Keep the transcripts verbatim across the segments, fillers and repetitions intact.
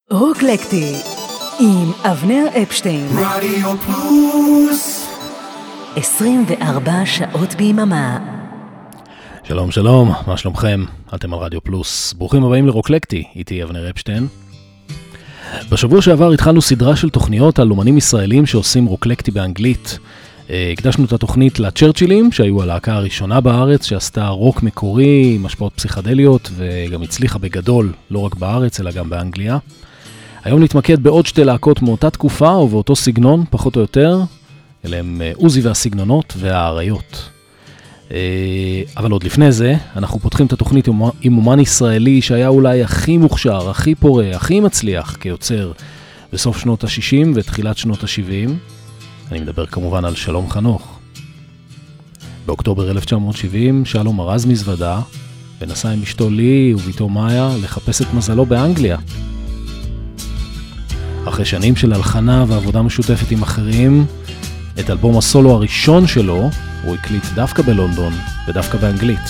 רוקלקטי עם אבנר אפשטיין. רדיו פלוס עשרים וארבע שעות ביממה. שלום שלום, מה שלומכם? אתם על רדיו פלוס. ברוכים הבאים לרוקלקטי, איתי אבנר אפשטיין. בשבוע שעבר התחלנו סדרה של תוכניות על אומנים ישראלים שעושים רוקלקטי באנגלית. הקדשנו את התוכנית לצ'רצ'ילים, שהיו הלהקה הראשונה בארץ, שעשתה רוק מקורי עם השפעות פסיכדליות, וגם הצליחה בגדול, לא רק בארץ, אלא גם באנגליה. היום נתמקד בעוד שתי להקות מאותה תקופה, ובאותו סגנון, פחות או יותר, אלה הם עוזי והסגנונות והאריות. אבל עוד לפני זה, אנחנו פותחים את התוכנית עם אומן ישראלי, שהיה אולי הכי מוכשר, הכי פורה, הכי מצליח כיוצר, בסוף שנות ה-שישים ותחילת שנות ה-שבעים. אני מדבר כמובן על שלום חנוך. באוקטובר אלף תשע מאות שבעים שלום ארז מזוודה ונסע עם אשתו לי וביתו מאיה לחפש את מזלו באנגליה. אחרי שנים של הלחנה ועבודה משותפת עם אחרים, את אלבום הסולו הראשון שלו הוא הקליט דווקא בלונדון ודווקא באנגלית.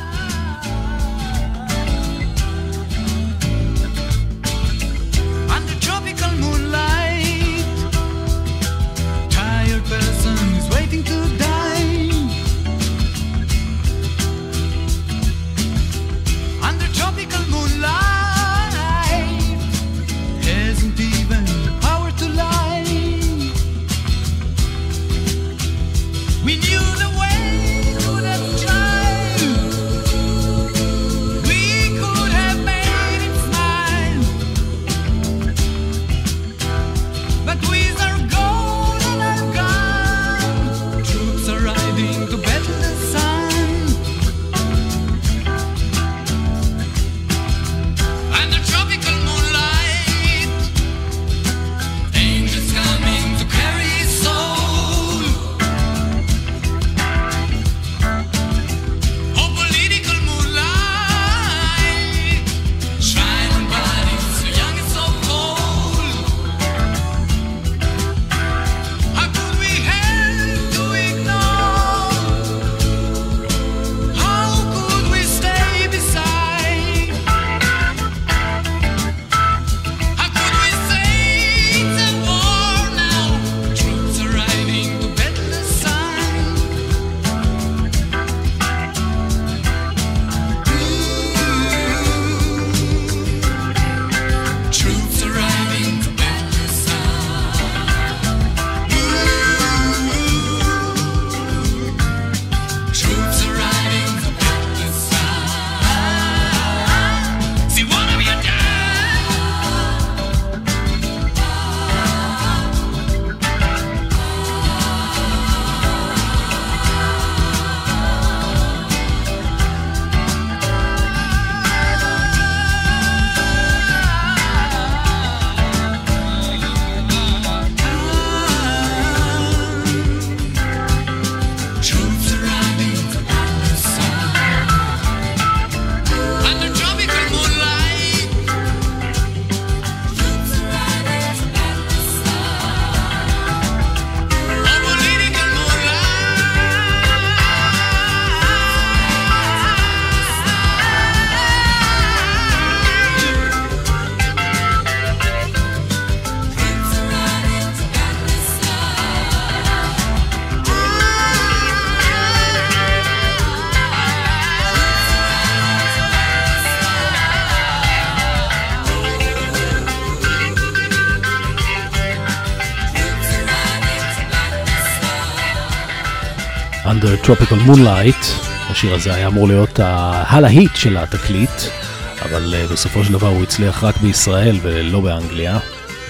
Under Tropical Moonlight, השיר הזה היה אמור להיות הלהיט של התקליט, אבל בסופו של דבר הוא הצליח רק בישראל ולא באנגליה.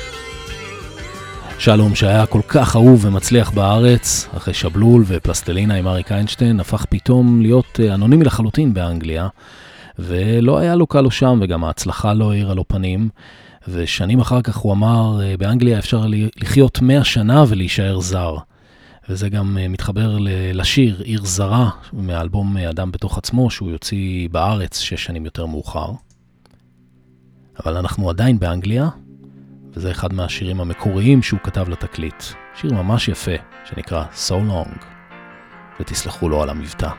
שלום, שהיה כל כך אהוב ומצליח בארץ, אחרי שבלול ופלסטלינה עם אריק איינשטיין, הפך פתאום להיות אנונימי לחלוטין באנגליה, ולא היה לו קל שם, וגם ההצלחה לא העירה לו פנים, ושנים אחר כך הוא אמר, באנגליה אפשר לחיות מאה שנה ולהישאר זר. וזה גם מתחבר לשיר עיר זרה מהאלבום אדם בתוך עצמו, שהוא יוציא בארץ שש שנים יותר מאוחר. אבל אנחנו עדיין באנגליה, וזה אחד מהשירים המקוריים שהוא כתב לתקליט. שיר ממש יפה, שנקרא So Long, ותסלחו לו על המבטא.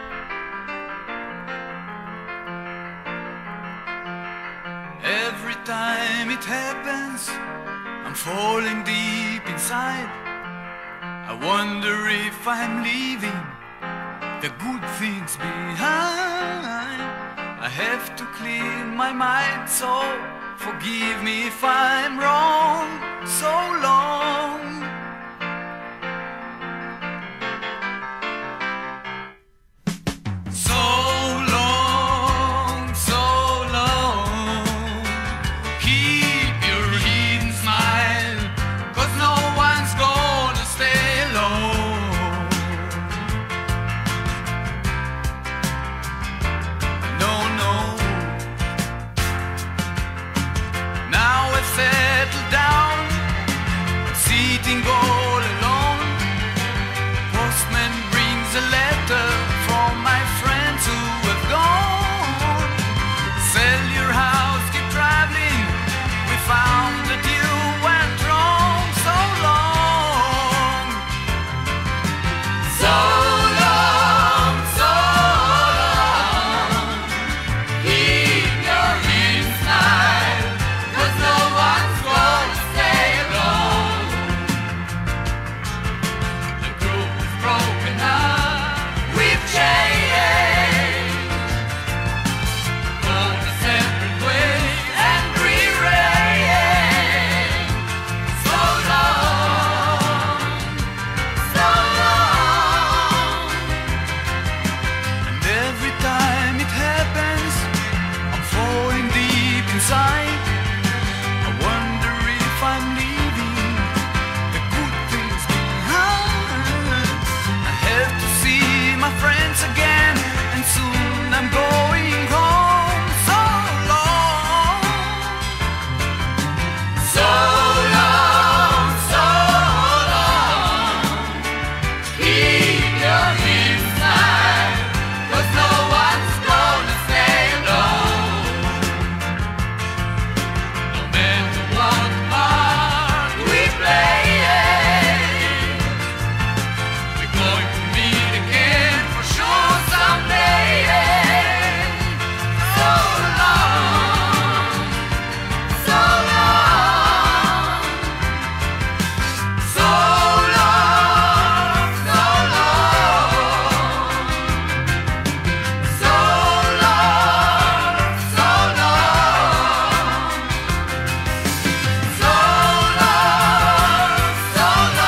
Every time time it happens, I'm falling deep inside. I wonder if I'm leaving the good things behind. I have to clean my mind, so forgive me if I'm wrong. So long. So long, so long. Keep your hidden smile, 'cause no one's gonna stay alone. No, no. Now I've settled down, sitting all alone. Postman brings a letter from my friends who have gone. Sell your house, keep traveling. We found that you went wrong. So long. So long, so long. Keep your hands smile, 'cause no one's gonna stay alone. The group is broken up, we've changed, gone a separate ways and rearranged. So long, so long. And every time it happens, I'm falling deep inside. I wonder if I'm leaving the good things behind. I have to see my friends again, and soon I'm going home. So long, so long, so long. Keep your hands smile, 'cause no one's gonna stay alone. No matter what part we play, we're going to meet again for sure someday. So long, so long, so long, so long, so long, so long. So long, so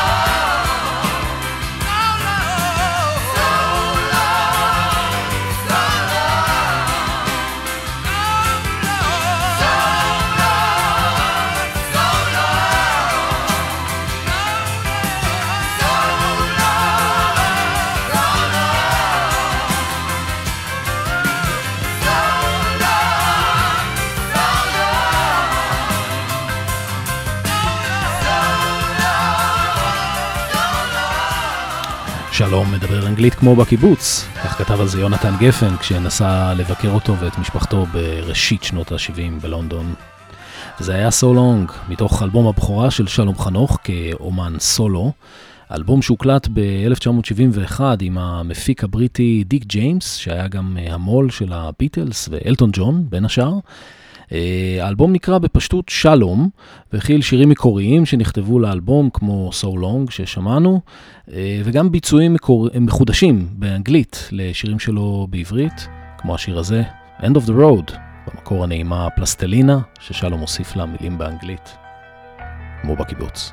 שלום מדבר אנגלית כמו בקיבוץ, כך כתב על זה יונתן גפן כשנסע לבקר אותו ואת משפחתו בראשית שנות ה-שבעים בלונדון. וזה היה So Long, מתוך אלבום הבכורה של שלום חנוך כאומן סולו, אלבום שהוקלט ב-אלף תשע מאות שבעים ואחת עם המפיק הבריטי דיק ג'יימס, שהיה גם המול של הביטלס ואלטון ג'ון בין השאר. האלבום נקרא בפשטות שלום, והכיל שירים מקוריים שנכתבו לאלבום כמו So Long ששמענו, וגם ביצועים מקור... מחודשים באנגלית לשירים שלו בעברית, כמו השיר הזה, End of the Road, במקור הנעימה פלסטלינה, ששלום הוסיף לה מילים באנגלית, כמו בקיבוץ.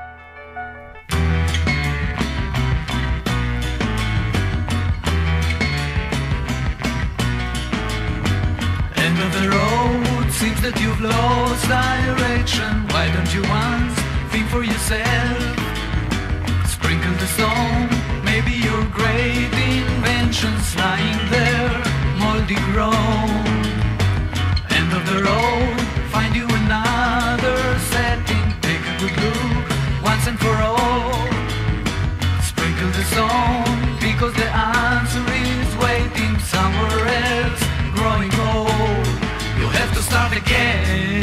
End of the road, seems that you've lost direction. Why don't you once think for yourself? Sprinkle the stone, maybe your great invention's lying there, moldy grown. End of the road, find you another setting. Take a good look, once and for all. Sprinkle the stone, because the answer is waiting somewhere else, growing old. You have to start again.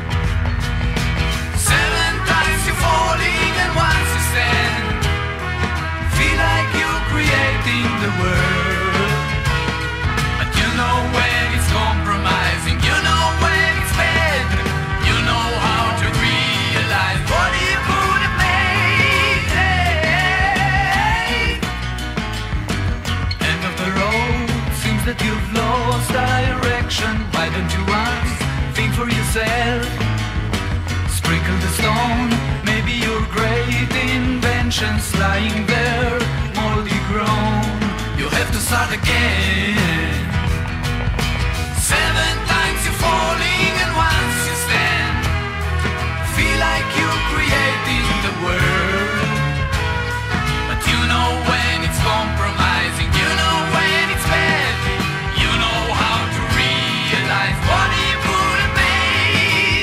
Seven times you're falling and once you stand. Feel like you're creating the world, but you know when it's compromising, you know when it's bad. patience lying there, moldy grown. You have to start again. Seven times you're falling and once you stand. Feel like you're creating the world. But you know when it's compromising, you know when it's bad. You know how to realize what it would have made.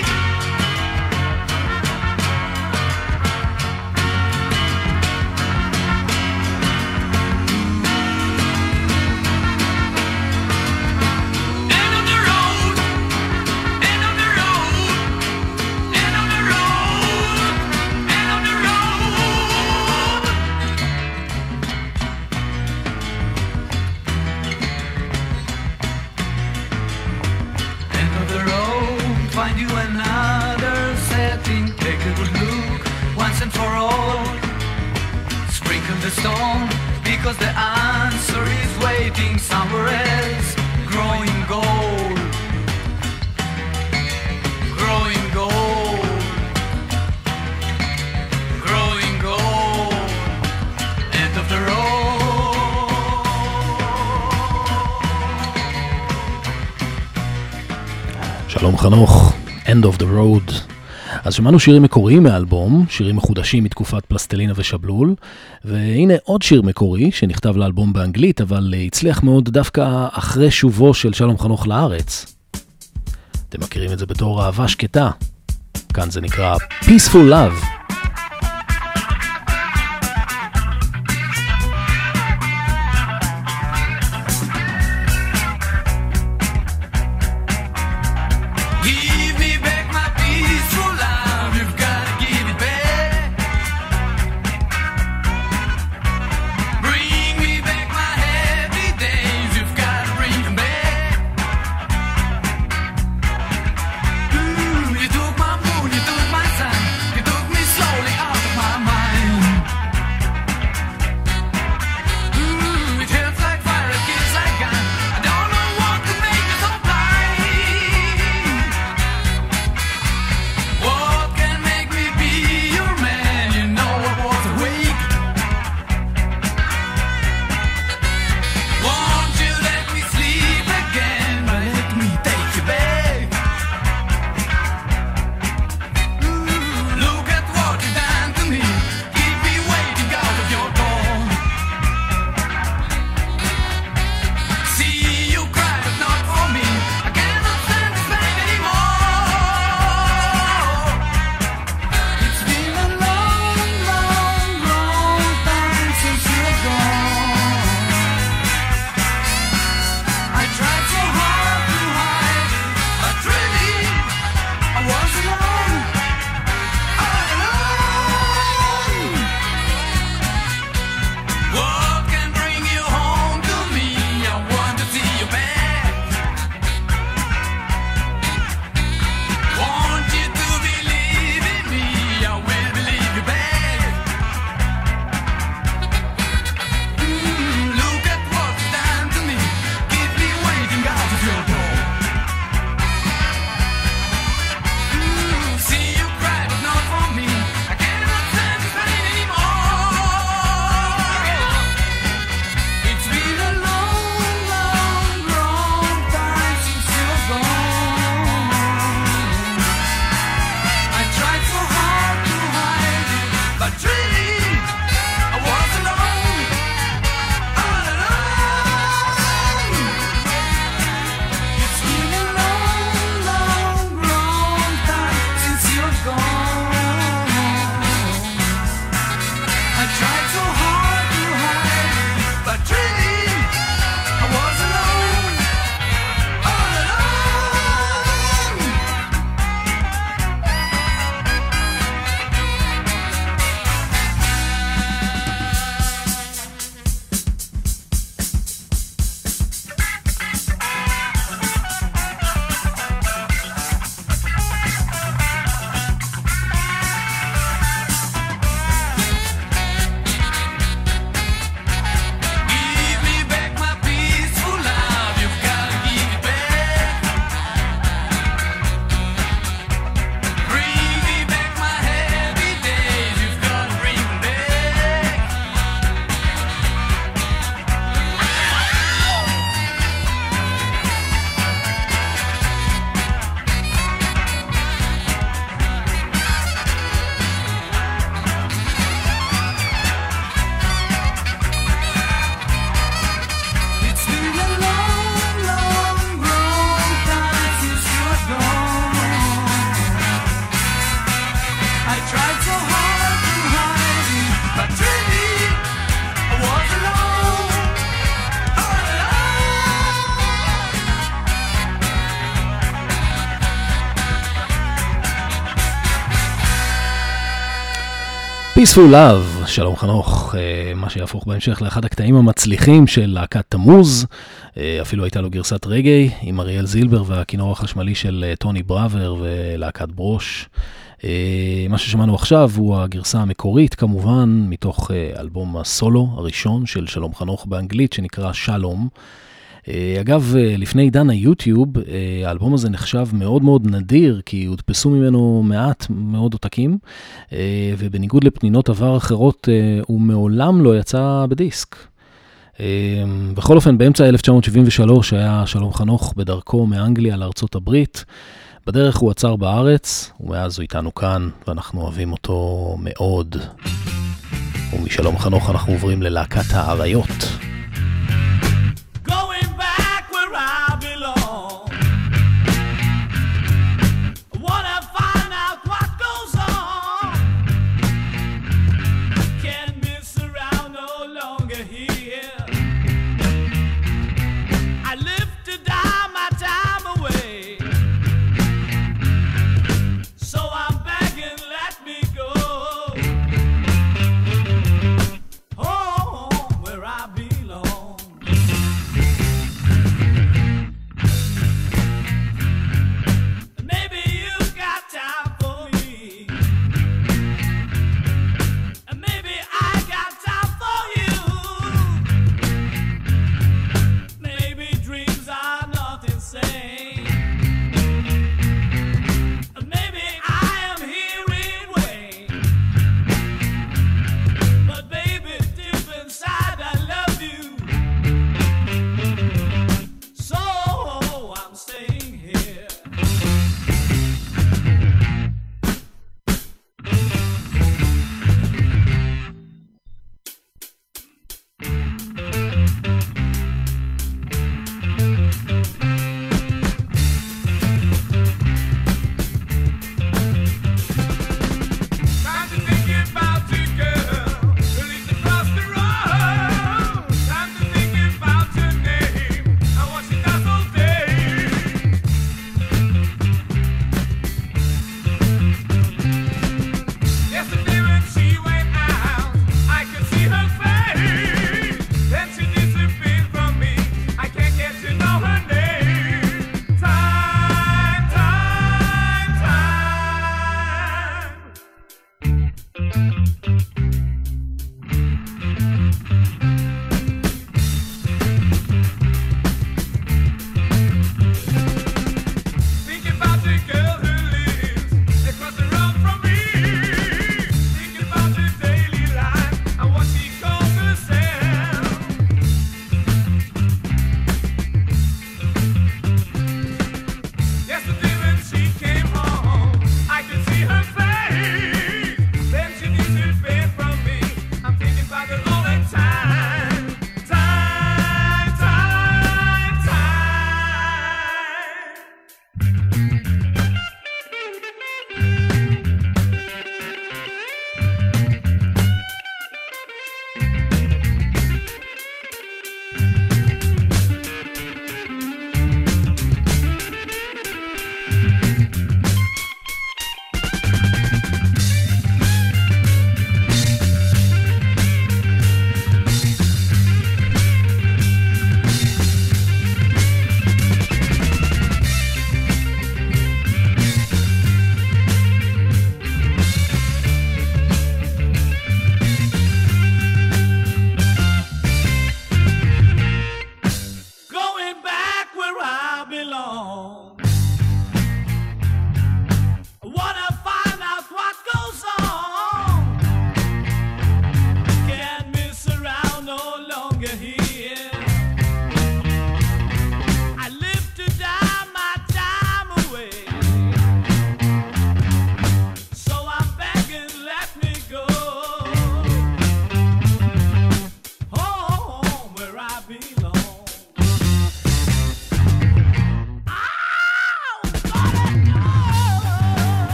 End of the road, end of the road, end of the road, end of the road. End of the road, find you another setting. Take a good look once and for all. Sprinkle the stone because the answer is waiting somewhere else. Growing gold, growing gold, growing gold. End of the road. שלום חנוך, End of the Road. אז שמענו שירים מקוריים מהאלבום, שירים מחודשים מתקופת פלסטלינה ושבלול, והנה עוד שיר מקורי שנכתב לאלבום באנגלית, אבל הצליח מאוד דווקא אחרי שובו של שלום חנוך לארץ. אתם מכירים את זה בתור אהבה שקטה. כאן זה נקרא Peaceful Love. Give me back my peaceful love, you've gotta give it back. Bring me back my happy days, you've gotta bring them back. Ooh, you took my moon, you took my sun, you took me tried so hard to hide it, but really I was alone, all alone. Peaceful Love, שלום חנוך, מה שיהפוך בהמשך לאחד הקטעים המצליחים של להקת תמוז, אפילו הייתה לו גרסת רגעי עם אריאל זילבר והכינור החשמלי של טוני בראבר ולהקת ברוש. מה ששמענו עכשיו הוא הגרסה המקורית כמובן מתוך אלבום הסולו הראשון של שלום חנוך באנגלית שנקרא שלום. אגב, לפני עידן היוטיוב, האלבום הזה נחשב מאוד מאוד נדיר, כי הודפסו ממנו מעט מאוד עותקים, ובניגוד לפנינות עבר אחרות, הוא מעולם לא יצא בדיסק. בכל אופן, באמצע אלף תשע מאות שבעים ושלוש היה שלום חנוך בדרכו מאנגליה לארצות הברית. בדרך הוא עצר בארץ, ומאז הוא איתנו כאן, ואנחנו אוהבים אותו מאוד. ומשלום חנוך אנחנו עוברים ללהקת האריות. I'll be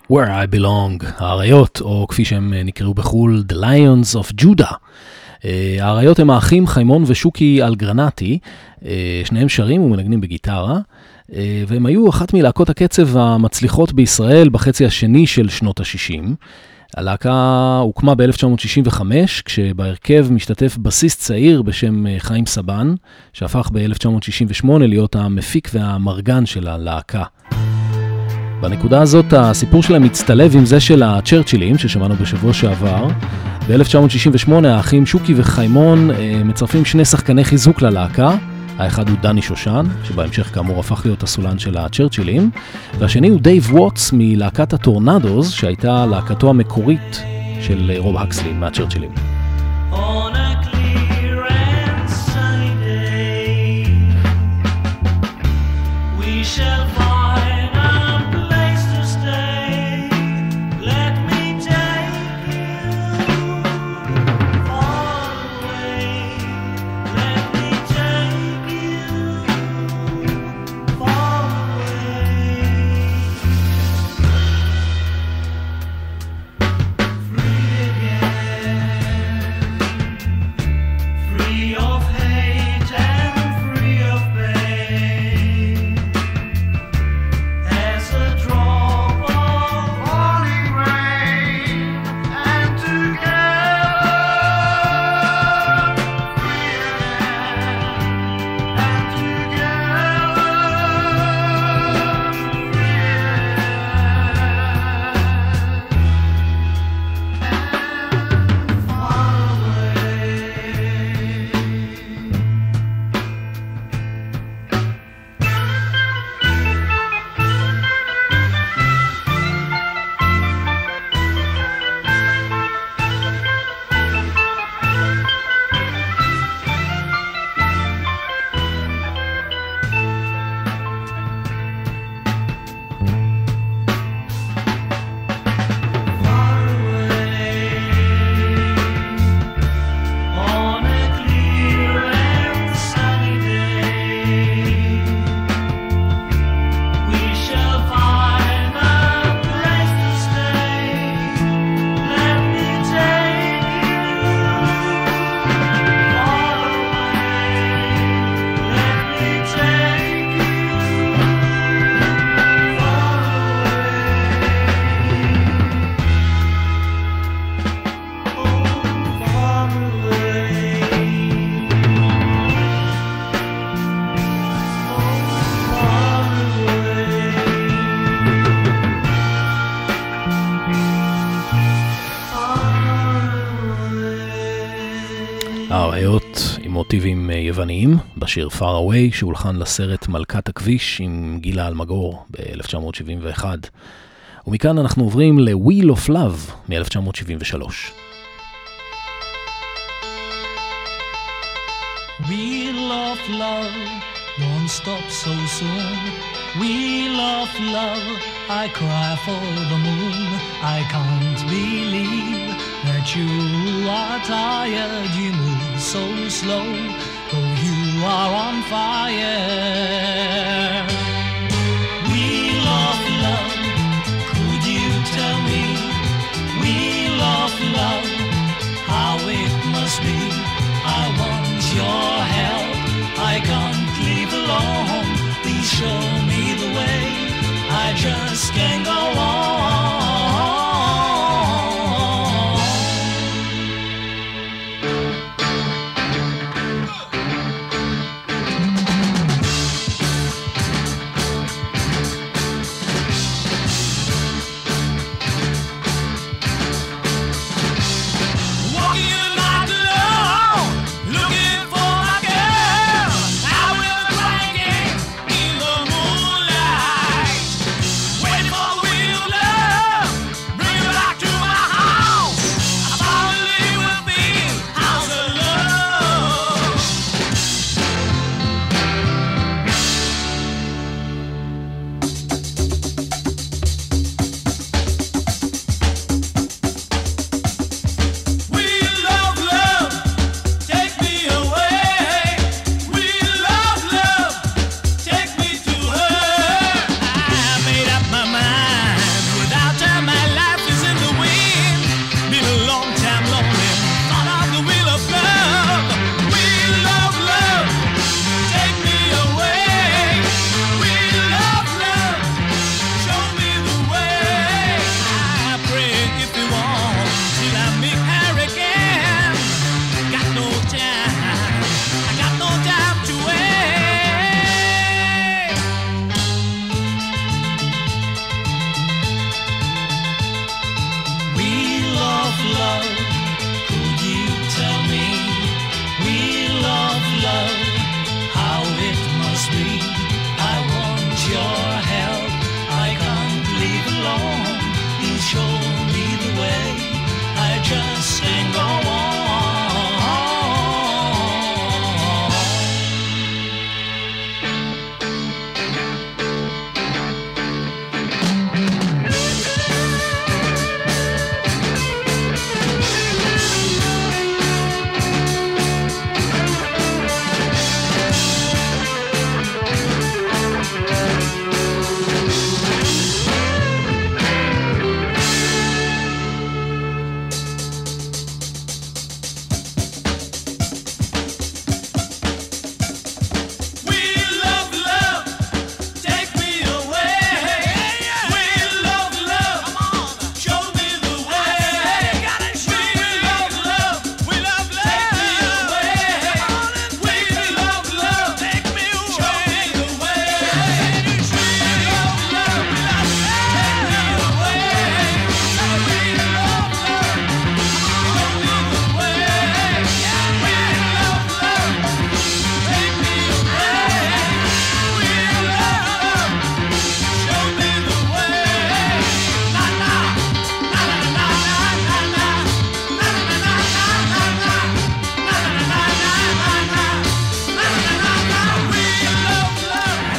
Where I Belong, האריות, או כפי שהם נקראו בחול, The Lions of Judah. האריות הם האחים חיימון ושוקי אלגרנטי, שניהם שרים ומנגנים בגיטרה, והם היו אחת מלהקות הקצב המצליחות בישראל בחצי השני של שנות ה-שישים. הלהקה הוקמה ב-אלף תשע מאות שישים וחמש, כשבהרכב משתתף בסיסט צעיר בשם חיים סבן, שהפך ב-אלף תשע מאות שישים ושמונה להיות המפיק והמרגן של הלהקה. בנקודה הזאת הסיפור שלהם מצטלב עם זה של הצ'רצ'ילים ששמענו בשבוע שעבר. ב-אלף תשע מאות שישים ושמונה האחים שוקי וחיימון מצרפים שני שחקני חיזוק ללהקה. האחד הוא דני שושן, שבהמשך כאמור הפך להיות הסולן של הצ'רצ'ילים, והשני הוא דייב ווטס מלהקת הטורנדוז, שהייתה להקתו המקורית של רוב הקסלי מהצ'רצ'ילים. האריות עם מוטיבים יווניים בשיר Far Away שהולחן לסרט מלכת הכביש עם גילה אלמגור ב-אלף תשע מאות שבעים ואחת. ומכאן אנחנו עוברים ל-Wheel of Love מ-אלף תשע מאות שבעים ושלוש. Wheel of love, don't stop so soon. Wheel of love, I cry for the moon. I can't believe that you are tired. You move so slow, though you are on fire. Wheel of love, could you tell me? Wheel of love, how it must be. I want your help, I can't leave alone. Please show me the way, I just can't go on. Waiting for the wheel.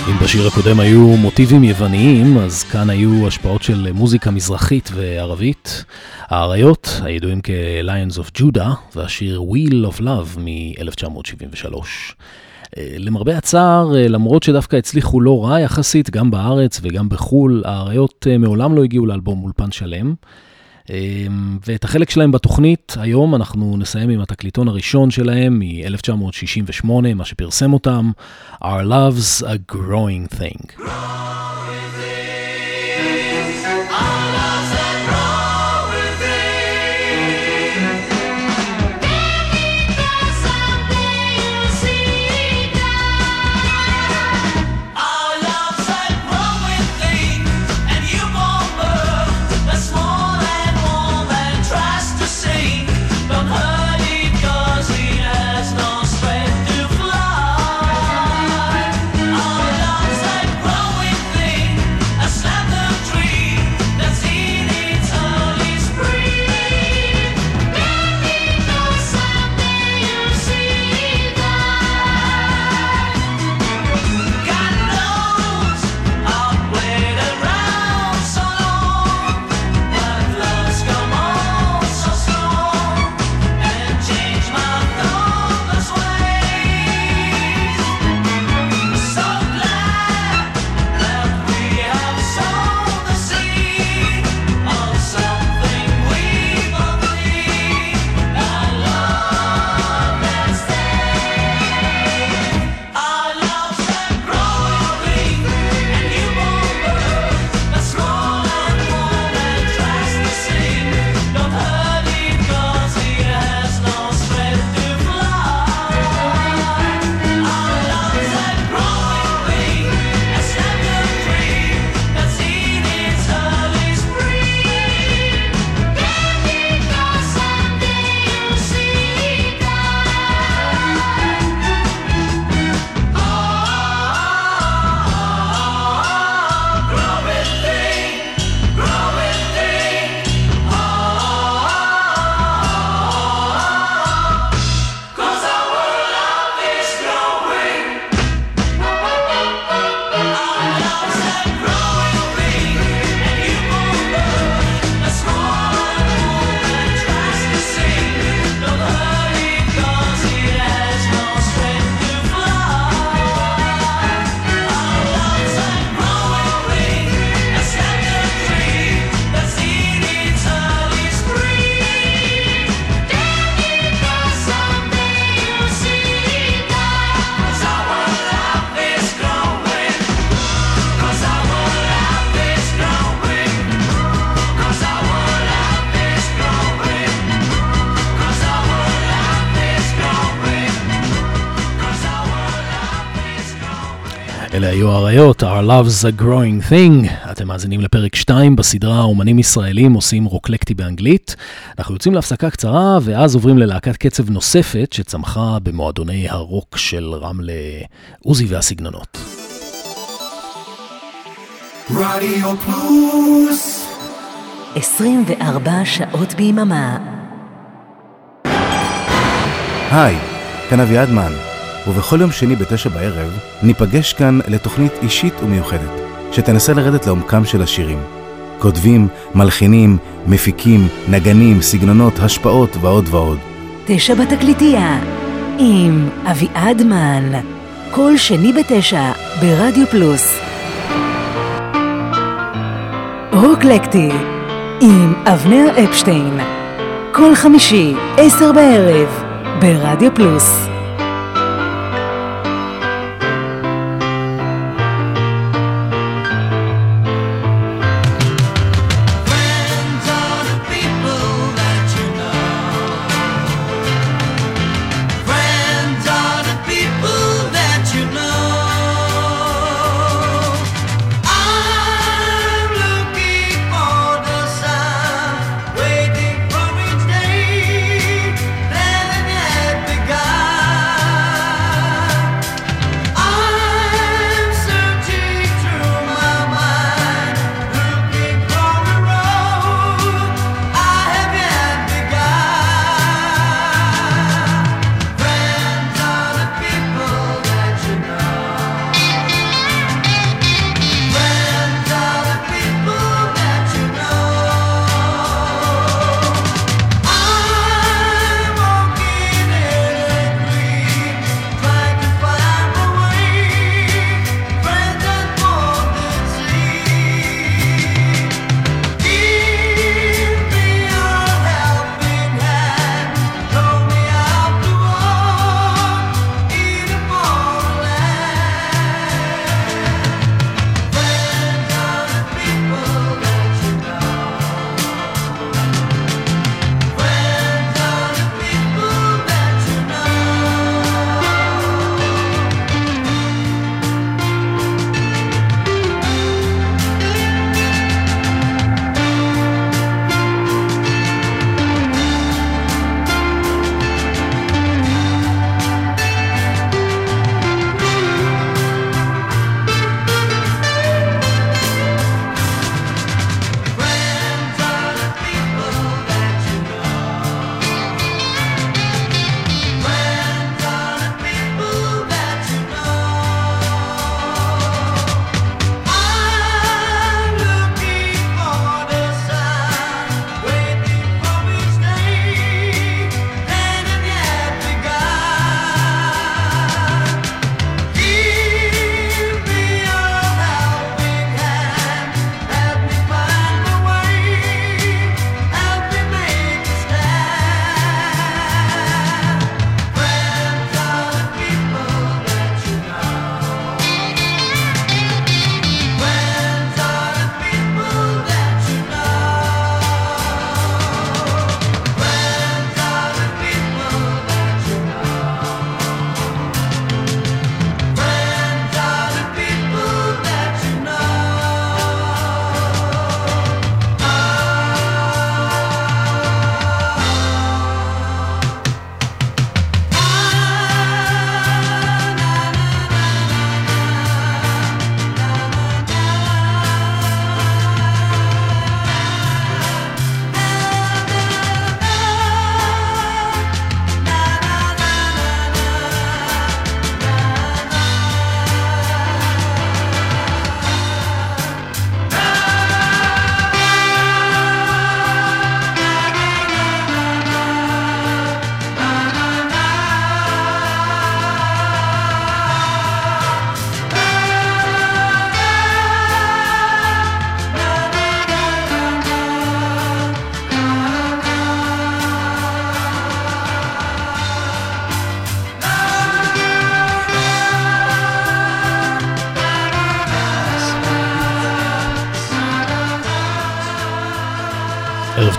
אם בשיר הקודם היו מוטיבים יווניים, אז כאן היו השפעות של מוזיקה מזרחית וערבית. האריות, הידועים כ-Lions of Judah, והשיר Wheel of Love מ-אלף תשע מאות שבעים ושלוש. למרבה הצער, למרות שדווקא הצליחו לא רע יחסית, גם בארץ וגם בחול, האריות מעולם לא הגיעו לאלבום אולפן שלם. ואת החלק שלהם בתוכנית, היום אנחנו נסיים עם התקליטון הראשון שלהם מ-אלף תשע מאות שישים ושמונה, מה שפרסם אותם, Our Love's a Growing Thing. אלה היו האריות, Our Love's a Growing Thing. אתם מאזינים לפרק שתיים בסדרה אומנים ישראלים עושים רוקלקטי באנגלית. אנחנו יוצאים להפסקה קצרה ואז עוברים ללהקת קצב נוספת שצמחה במועדוני הרוק של רמלה, עוזי והסגנונות. רדיו פלוס עשרים וארבע שעות ביממה. היי, כאן אביעד מן. ובכל יום שני בתשע בערב ניפגש כאן לתוכנית אישית ומיוחדת שתנסה לרדת לעומקם של השירים. כותבים, מלחינים, מפיקים, נגנים, סגנונות, השפעות ועוד ועוד. תשע בתקליטייה עם אביעד מן, כל שני בתשע ברדיו פלוס. רוקלקטי עם אבנר אפשטיין, כל חמישי עשר בערב ברדיו פלוס. Waiting for each day, then at the guy.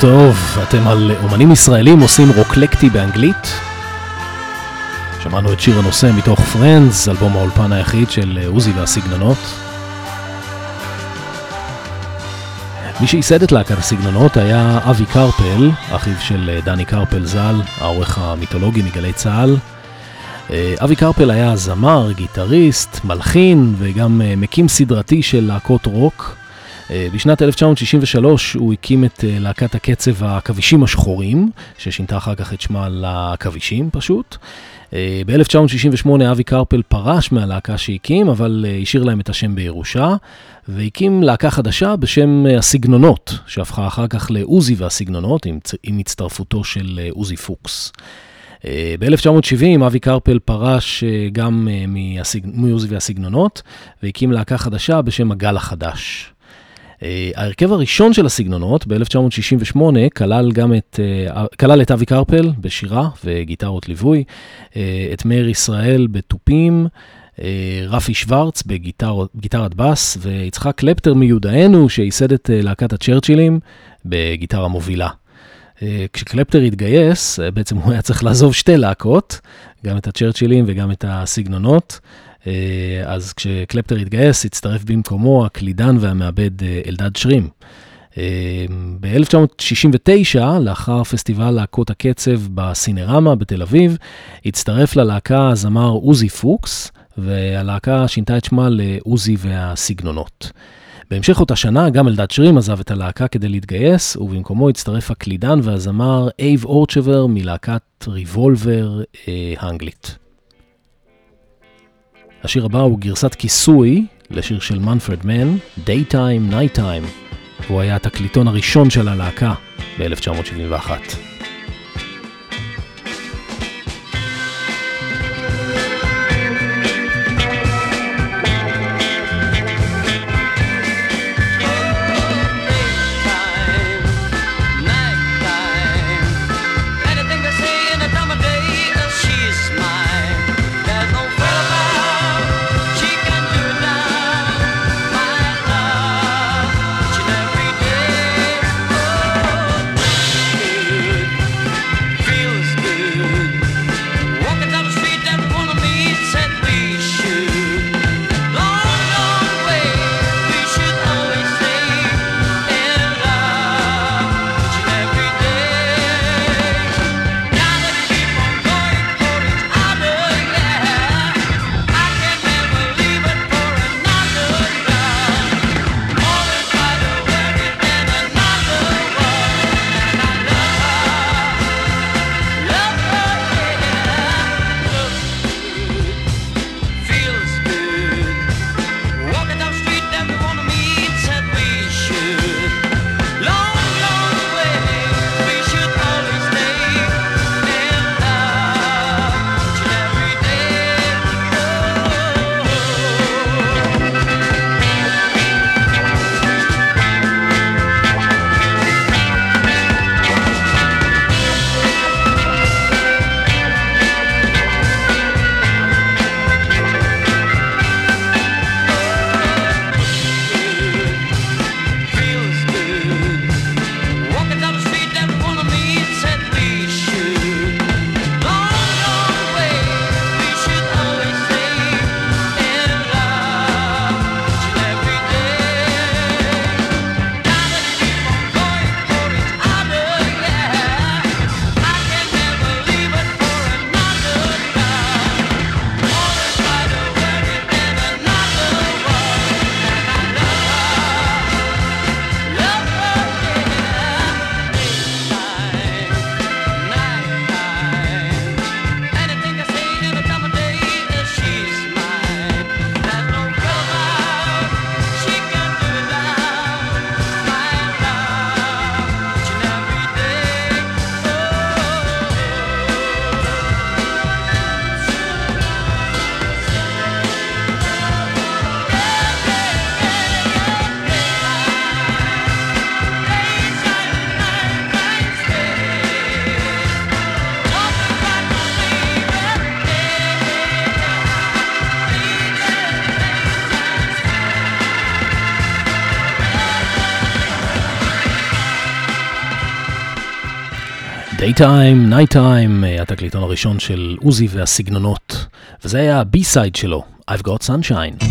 טוב, אתם על אומנים ישראלים עושים רוקלקטי באנגלית. שמענו את שיר הנושא מתוך פרנדס, אלבום האולפן היחיד של עוזי והסגנונות. מי שייסד את להקת הסגנונות היה אבי קרפל, אחיו של דני קרפל ז"ל, העורך המיתולוגי מגלי צה"ל. אבי קרפל היה זמר, גיטריסט, מלחין וגם מקים סדרתי של להקות רוק. בשנת אלף תשע מאות שישים ושלוש הוא הקים את להקת הקצב הכבישים השחורים, ששינתה אחר כך את שמה לכבישים פשוט. ב-אלף תשע מאות שישים ושמונה אבי קרפל פרש מהלהקה שהקים, אבל השאיר להם את השם בירושה, והקים להקה חדשה בשם הסגנונות, שהפכה אחר כך לעוזי והסגנונות, עם, עם הצטרפותו של עוזי פוקס. ב-אלף תשע מאות שבעים אבי קרפל פרש גם מעוזי והסגנונות, והקים להקה חדשה בשם הגל החדש. ההרכב הראשון של הסגנונות ב-אלף תשע מאות שישים ושמונה כלל גם את, כלל את אבי קרפל בשירה וגיטרות ליווי, את מאיר ישראל בטופים, רפי שוורץ בגיטרת בס, ויצחק קלפטר מיודענו שייסד את להקת הצ'רצ'ילים בגיטרה מובילה. כשקלפטר התגייס, בעצם הוא היה צריך לעזוב שתי להקות, גם את הצ'רצ'ילים וגם את הסגנונות. אז כשקלפטר התגייס, הצטרף במקומו הקלידן והמעבד אלדד שרים. ב-אלף תשע מאות שישים ותשע, לאחר פסטיבל להקות הקצב בסינרמה בתל אביב, הצטרף ללהקה הזמר עוזי פוקס, והלהקה שינתה את שמה לעוזי והסגנונות. בהמשך אותה שנה, גם אלדד שרים עזב את הלהקה כדי להתגייס, ובמקומו הצטרף הקלידן והזמר אייב אורצ'בר מלהקת ריבולבר אה, האנגלית. השיר הבא הוא גרסת כיסוי לשיר של מנפרד מן, Daytime, Nighttime, והוא היה התקליטון הראשון של הלהקה ב-אלף תשע מאות שבעים ואחת. Good Daytime, Nighttime, התקליטון הראשון של עוזי והסגנונות, וזה היה ה-B-side שלו, I've Got Sunshine.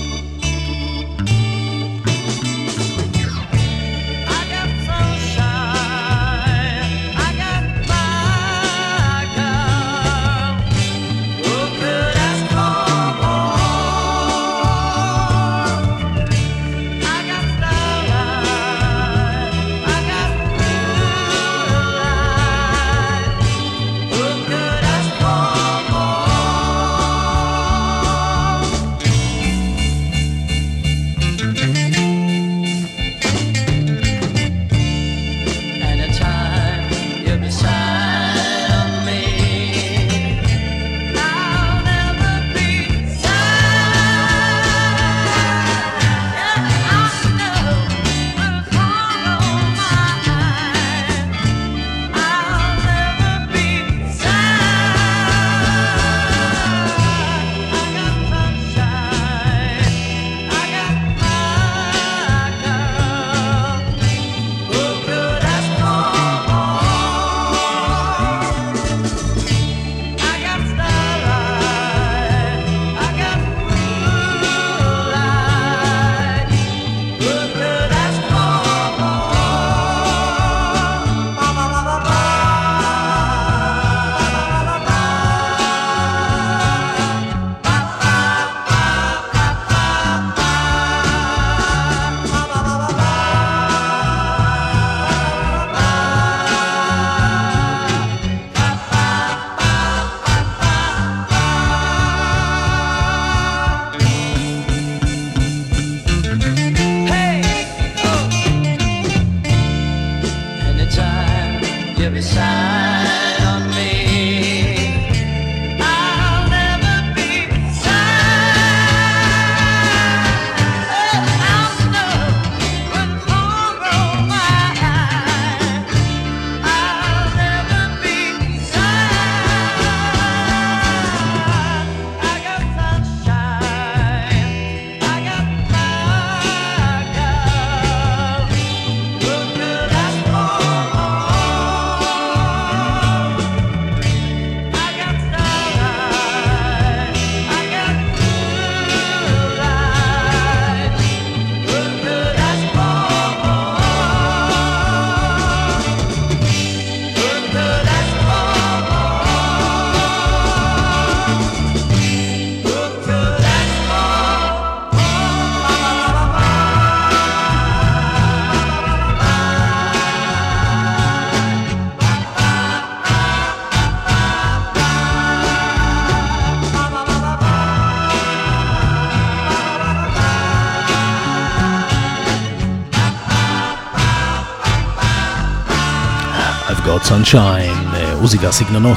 Sunshine, עוזי והסגנונות.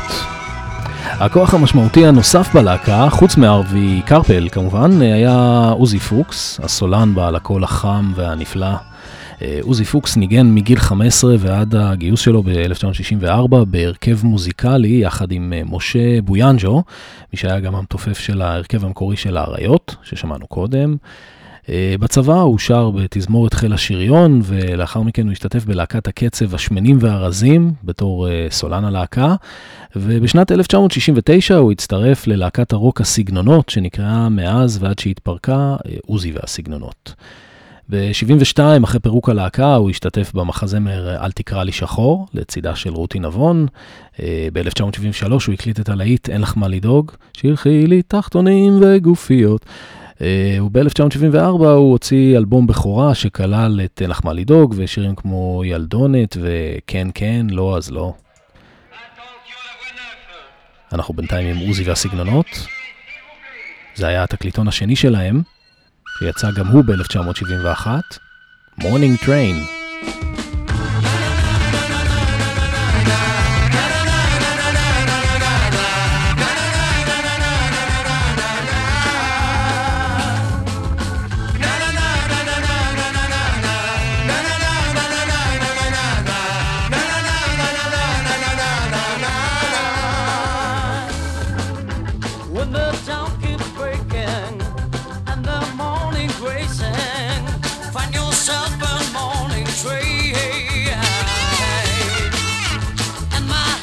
הכוח המשמעותי הנוסף בלהקה, חוץ מארווי קרפל כמובן, היה עוזי פוקס, הסולן בעל הקול החם והנפלא. עוזי פוקס ניגן מגיל חמש עשרה ועד הגיוס שלו ב-אלף תשע מאות שישים וארבע בהרכב מוזיקלי יחד עם משה בויאנג'ו, מי שהיה גם המתופף של ההרכב המקורי של האריות ששמענו קודם. בצבא הוא שר בתזמורת חיל השריון, ולאחר מכן הוא השתתף בלהקת הקצב השמנים והרזים בתור סולן הלהקה, ובשנת אלף תשע מאות שישים ותשע הוא הצטרף ללהקת הרוק הסגנונות שנקראה מאז ועד שהתפרקה עוזי והסגנונות. ב-שבעים ושתיים אחרי פירוק הלהקה הוא השתתף במחזמר אל תקרא לי שחור לצידה של רותי נבון. ב-אלף תשע מאות שבעים ושלוש הוא הקליט את הלהיט אין לך מה לדאוג, שילחי לי תחתונים וגופיות. וב-אלף תשע מאות שבעים וארבע הוא הוציא אלבום בכורה שכלל את אין לך מה לדאוג ושירים כמו ילדונת וכן כן, לא אז לא. אנחנו בינתיים עם עוזי והסגנונות. זה היה התקליטון השני שלהם, שיצא גם הוא ב-אלף תשע מאות שבעים ואחת, Morning Train. And my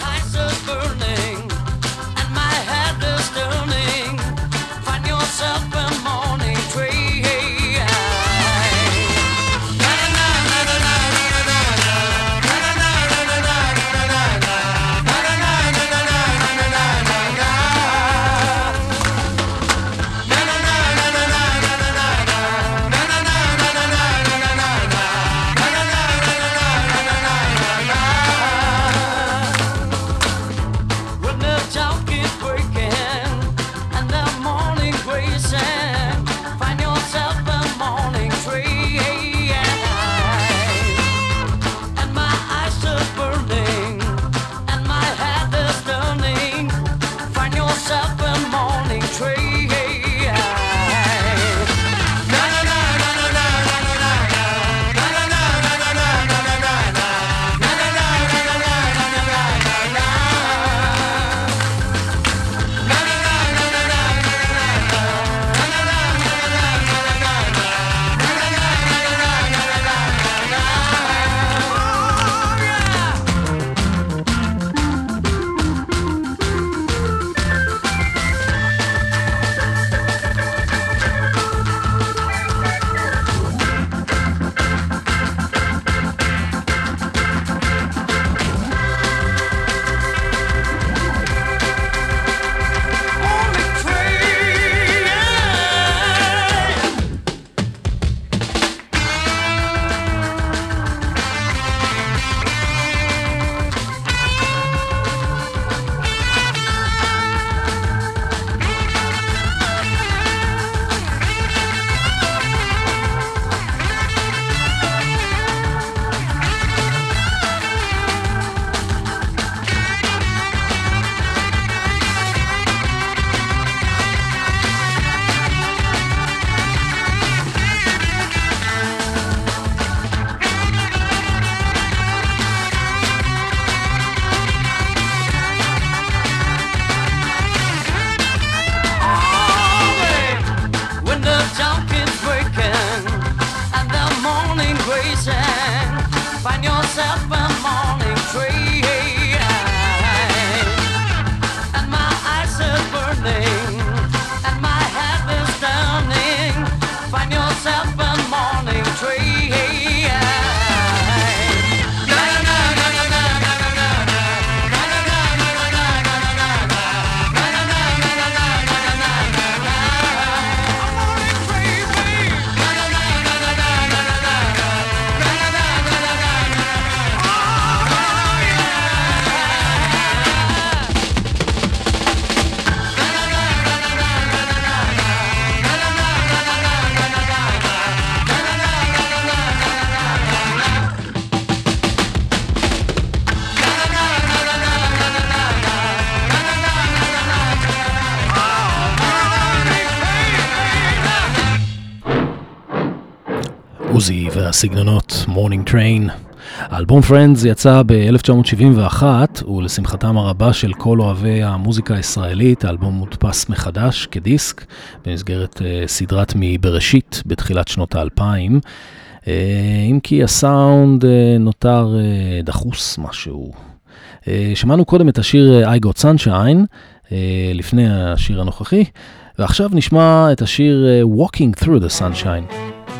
עוזי והסגנונות Morning Train. האלבום Friends יצא ב-אלף תשע מאות שבעים ואחת, ולשמחתם הרבה של כל אוהבי המוזיקה הישראלית, האלבום מודפס מחדש כדיסק, במסגרת uh, סדרת מבראשית בתחילת שנות האלפיים, uh, אם כי הסאונד uh, נותר uh, דחוס משהו. Uh, שמענו קודם את השיר I Got Sunshine, uh, לפני השיר הנוכחי, ועכשיו נשמע את השיר uh, Walking Through the Sunshine.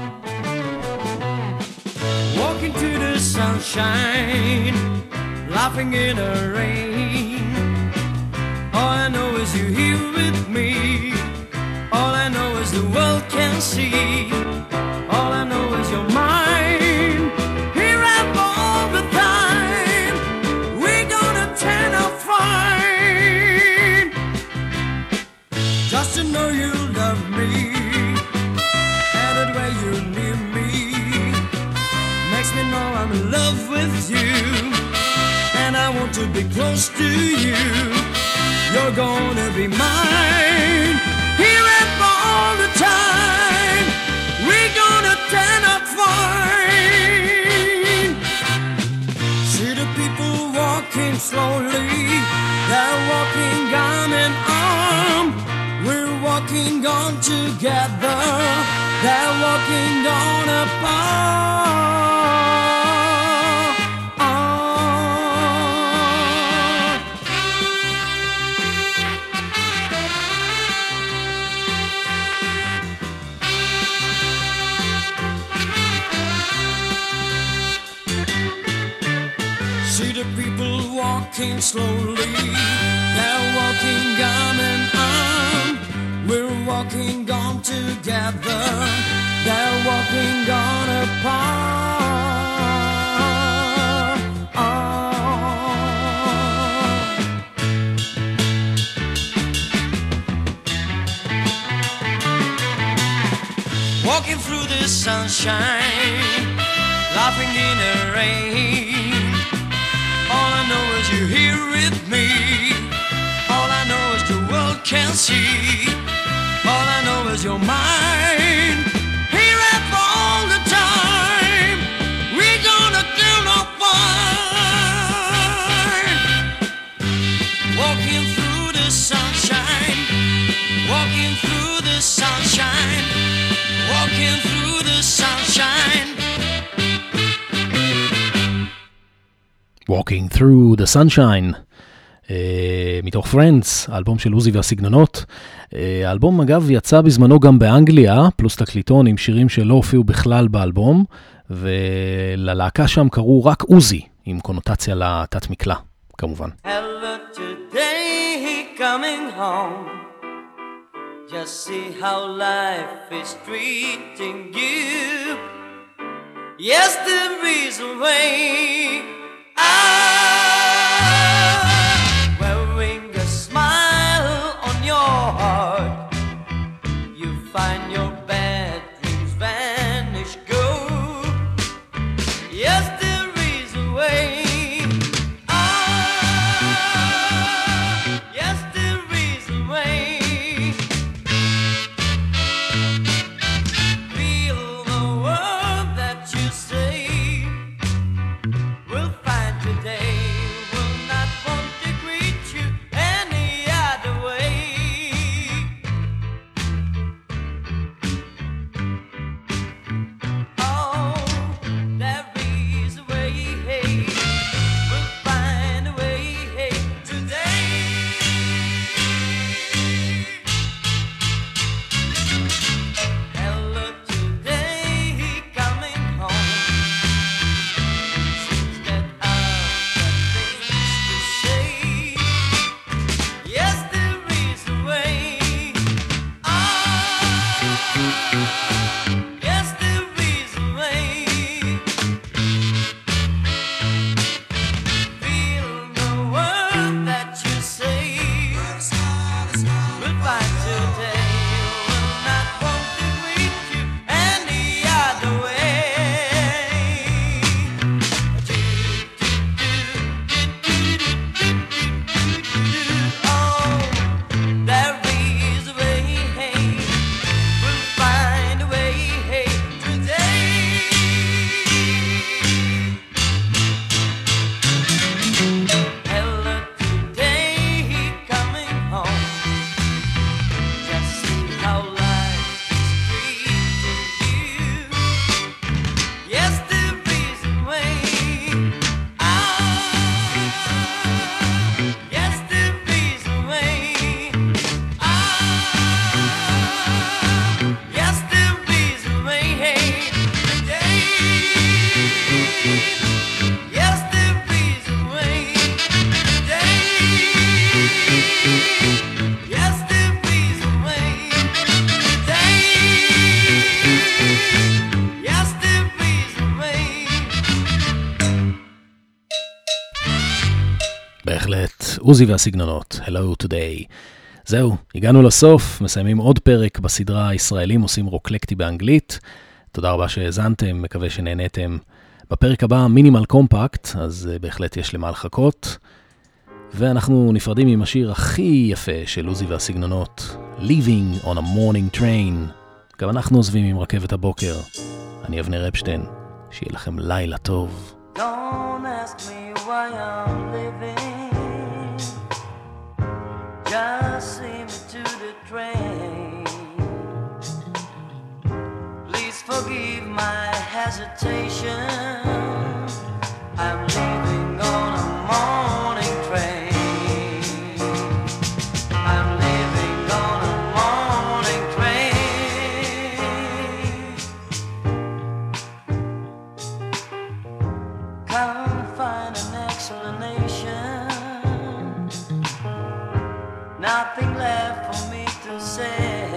Sunshine, laughing in the rain. All I know is you're here with me. All I know is the world can see. All I know is you're mine. Here and all the time, we're gonna turn out fine. Just to know you love me, and the way you near me makes me know I'm in love with you, and I want to be close to you. You're gonna be mine, here and for all the time. We're gonna turn out fine. See the people walking slowly, they're walking arm in arm. We're walking on together, they're walking on apart. See the people walking slowly, they're walking arm in arm. We're walking on together, they're walking on apart. Walking through the sunshine, laughing in the rain. All I know is you're here with me. All I know is the world can see. All I know is you're mine. Here and for all the time, we're gonna do no fine. Walking through the sunshine, walking through the sunshine, walking through the sunshine. Walking Through the Sunshine, uh, מתוך Friends, האלבום של עוזי והסגנונות. Uh, האלבום אגב יצא בזמנו גם באנגליה, פלוס תקליטון עם שירים שלא הופיעו בכלל באלבום, וללהקה שם קראו רק עוזי, עם קונוטציה לתת מקלה, כמובן. Hello today, coming home. Just see how life is treating you. Yes, there is a way. Ah, wearing a smile on your heart, you find your bad dreams vanish, go. Yes, there is a way. Ah, yes, there is a way. Feel the word that you say. We'll find today will not want to greet you any other way. Oh, there is a way, hey. We'll find a way, hey, today. Hello today, coming home. Seems that I've got things to say. Yes, there is a way. Ah, yes, there is a way. Feel the word that you say. Goodbye today. Will not want to greet you any other way. Oh, there is a way, hey. We'll find עוזי והסגנונות, Hello Today. זהו, הגענו לסוף, מסיימים עוד פרק בסדרה הישראלים עושים רוקלקטי באנגלית. תודה רבה שהאזנתם, מקווה שנהנתם. בפרק הבא מינימל קומפקט, אז בהחלט יש למה לחכות. ואנחנו נפרדים עם השיר הכי יפה של עוזי והסגנונות, Leaving on a Morning Train. גם אנחנו עוזבים עם רכבת הבוקר. אני אבנר אפשטיין, שיהיה לכם לילה טוב. Don't ask me why I'm living, just see me to the train. Please forgive my hesitation, I'm leaving on a morning train. I'm leaving on a morning train. Can't find an explanation, nothing left for me to say.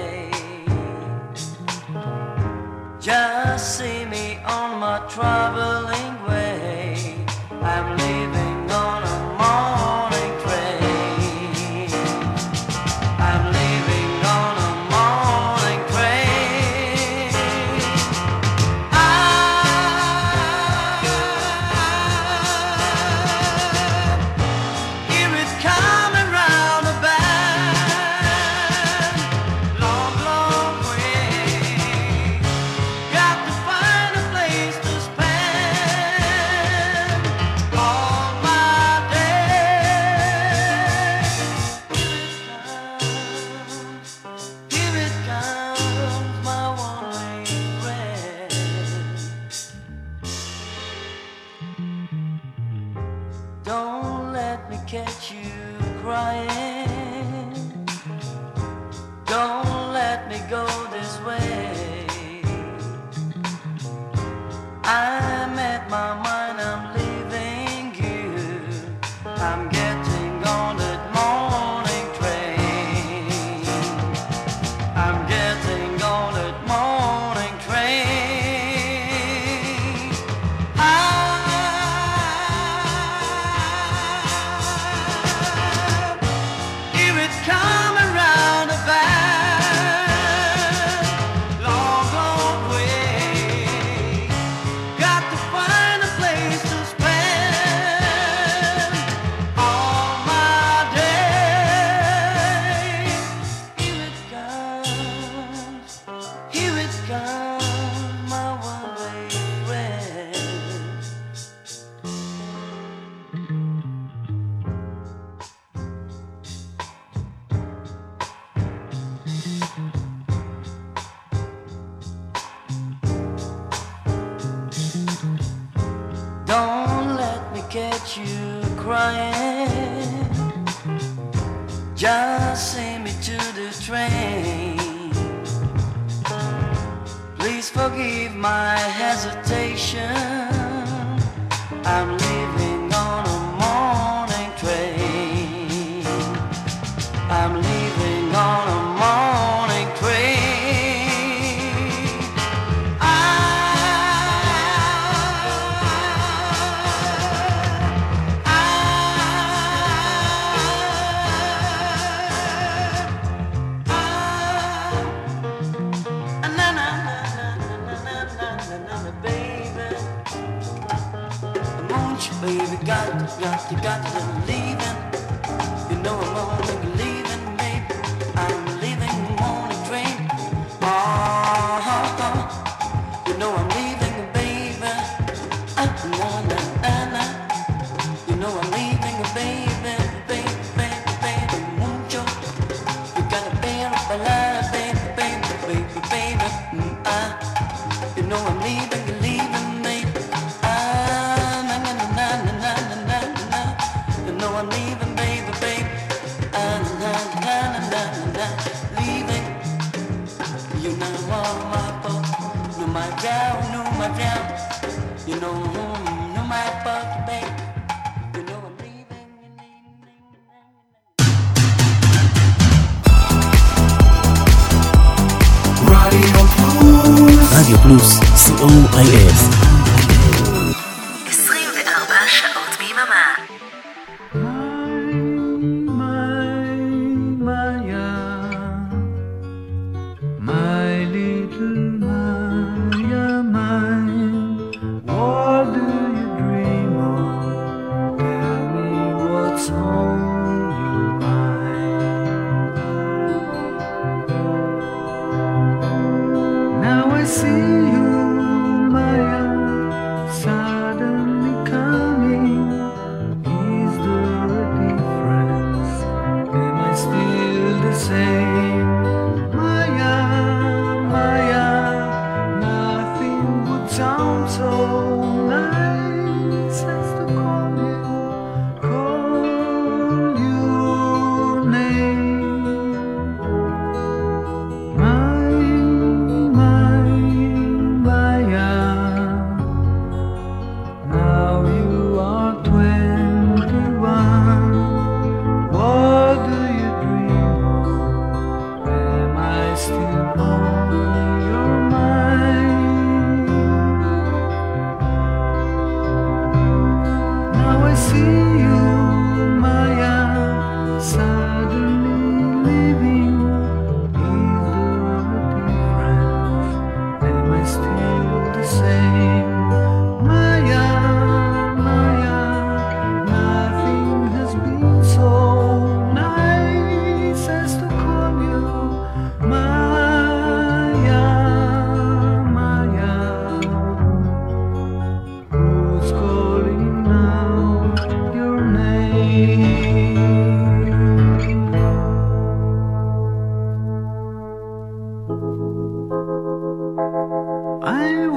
Just see me on my traveling way. I'm leaving on a morning train. I'm leaving on a morning train. I, hear it coming round the bend, long, long way. Got to find a place to spend all my days. Here it comes, here it comes, my one-way friend. Don't let me catch you crying. Don't let me go this way. I'm at my mind, I'm leaving you. I'm getting on that morning train. I'm getting on that morning train. I, hear it coming round the bend, long, long way. Got to find a place to spend all my days. Here it comes, here it comes, my one-way friend. Don't let me catch you crying. Just send me to the train. Please forgive my hesitation, I'm leaving on a morning train. I'm leaving on a morning train. I, I, I, I, na na na na na na na na na na, baby. Won't you, baby, got to, got to, got to leaving. You know I'm only leaving, baby. I'm leaving on a train. Oh, oh, oh. You know I'm leaving, baby. Ah, na na na na. You know I'm leaving, baby, baby, baby, baby. Won't you? You gotta bear up a lot, baby, baby, baby, baby. Mm, ah. You know I'm leaving, leaving, baby. Ah, na na na na na na na na. You know I'm leaving, baby, baby. Ah, na na na na na na. Leaving. You know all my fault. No my down, no my down. You know, no my fault, baby. You know I'm leaving, leaving, leaving. רדיו פלוס. רדיו פלוס, סי או איי אס. עשרים וארבע שעות ביממה.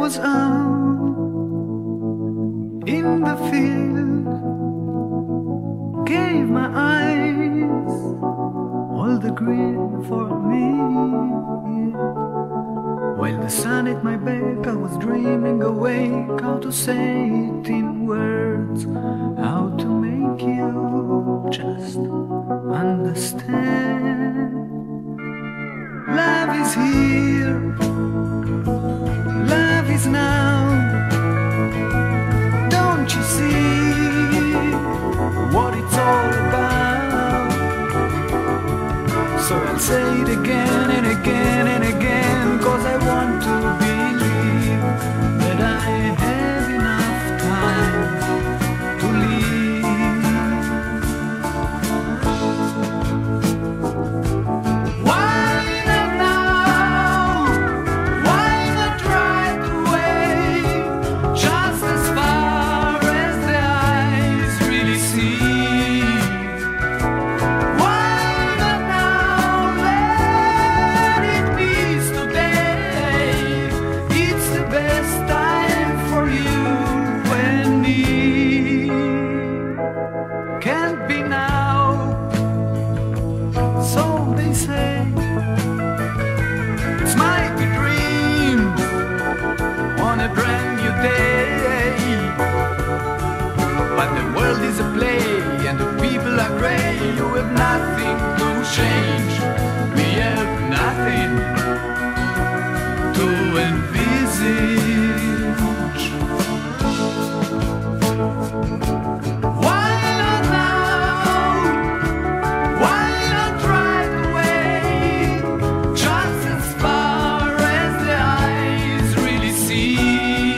was out in the field, gave my eyes all the green for me. While the sun at my back, I was dreaming awake how to say it in words, how to make you just understand. Love is here, love is now. Don't you see what it's all about? So I'll say it again and again and again, 'cause I want to believe that I have enough time to live. Why not now? Why not right away? Just as far as the eyes really see. Why not now? Let it be today. It's the best time for you and me. Can't be now, so they say. It's my dream on a brand new day. But the world is a play and the people are gray. You have nothing to change. We have nothing to envisage. Why not now? Why not right away? Just as far as the eyes really see.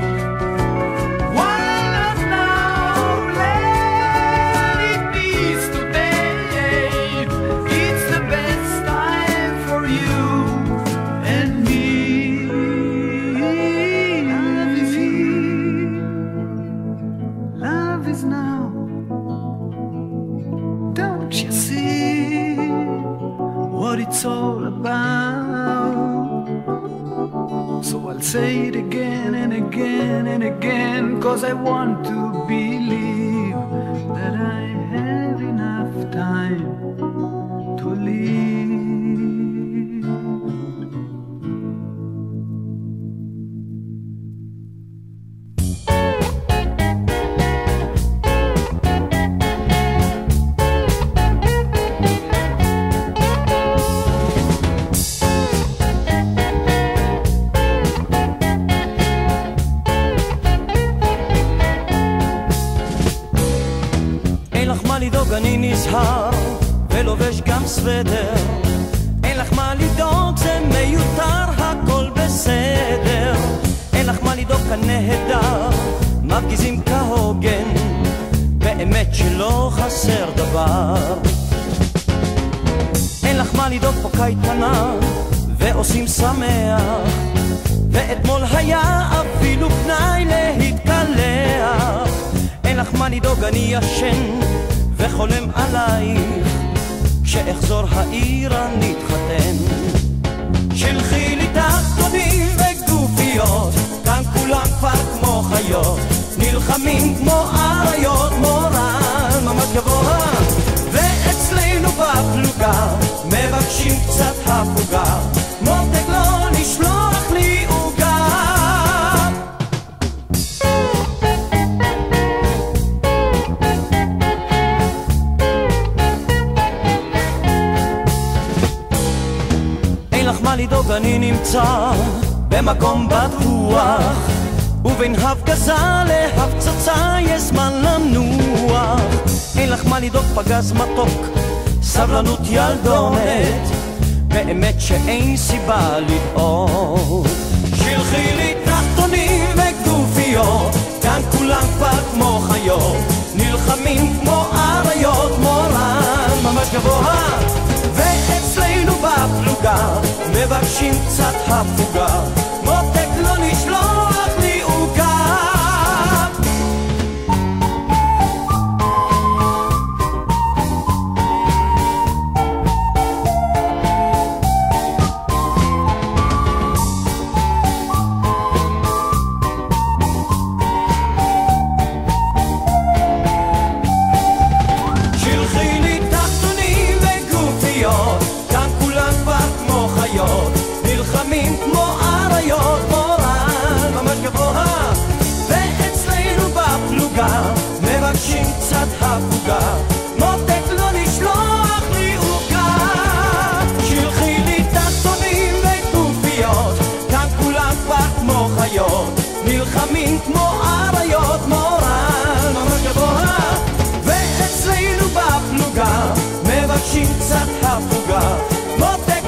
Why not now? Let it be today. It's the best time for you and me. Love is here. Love is now. Don't you see what it's all about? So I'll say it again and again and again, 'cause I want to believe that I have enough time to live. אין לך מה לדאוג, אני נזהר ולובש גם סוודר. אין לך מה לדאוג, זה מיותר, הכל בסדר. אין לך מה לדאוג, כאן נהדר, מפגיזים כהוגן, באמת שלא חסר דבר. אין לך מה לדאוג, פה קייטנה ועושים שמח, ואתמול היה אפילו פנאי להתקלח. אין לך מה לדאוג, אני ישן וחולם עלייך, כשאחזור העיר אני אתחתן. שלחי לי תחתונים וגופיות, כאן כולם כבר כמו חיות, נלחמים כמו אריות, מורל ממש גבוה. ואצלנו בפלוגה מבקשים קצת הפוגה, מותק לא לשלוח לי עוגה. אין לך מה לדאוג, אני נמצא במקום בטוח, ובין הפגזה להפצצה יש זמן לנוח. אין לך מה לדאוג, פגז מתוק, סבלנות ילדונת, באמת שאין סיבה לדאוג. שלחי לי תחתונים וגופיות, כאן כולם כבר כמו חיות, נלחמים כמו אריות, מורל ממש גבוה. ואצלנו בפלוגה מבקשים קצת הפוגה, מותק לא נשלוח לי עוגה. מבקשים קצת הפוגה, מותק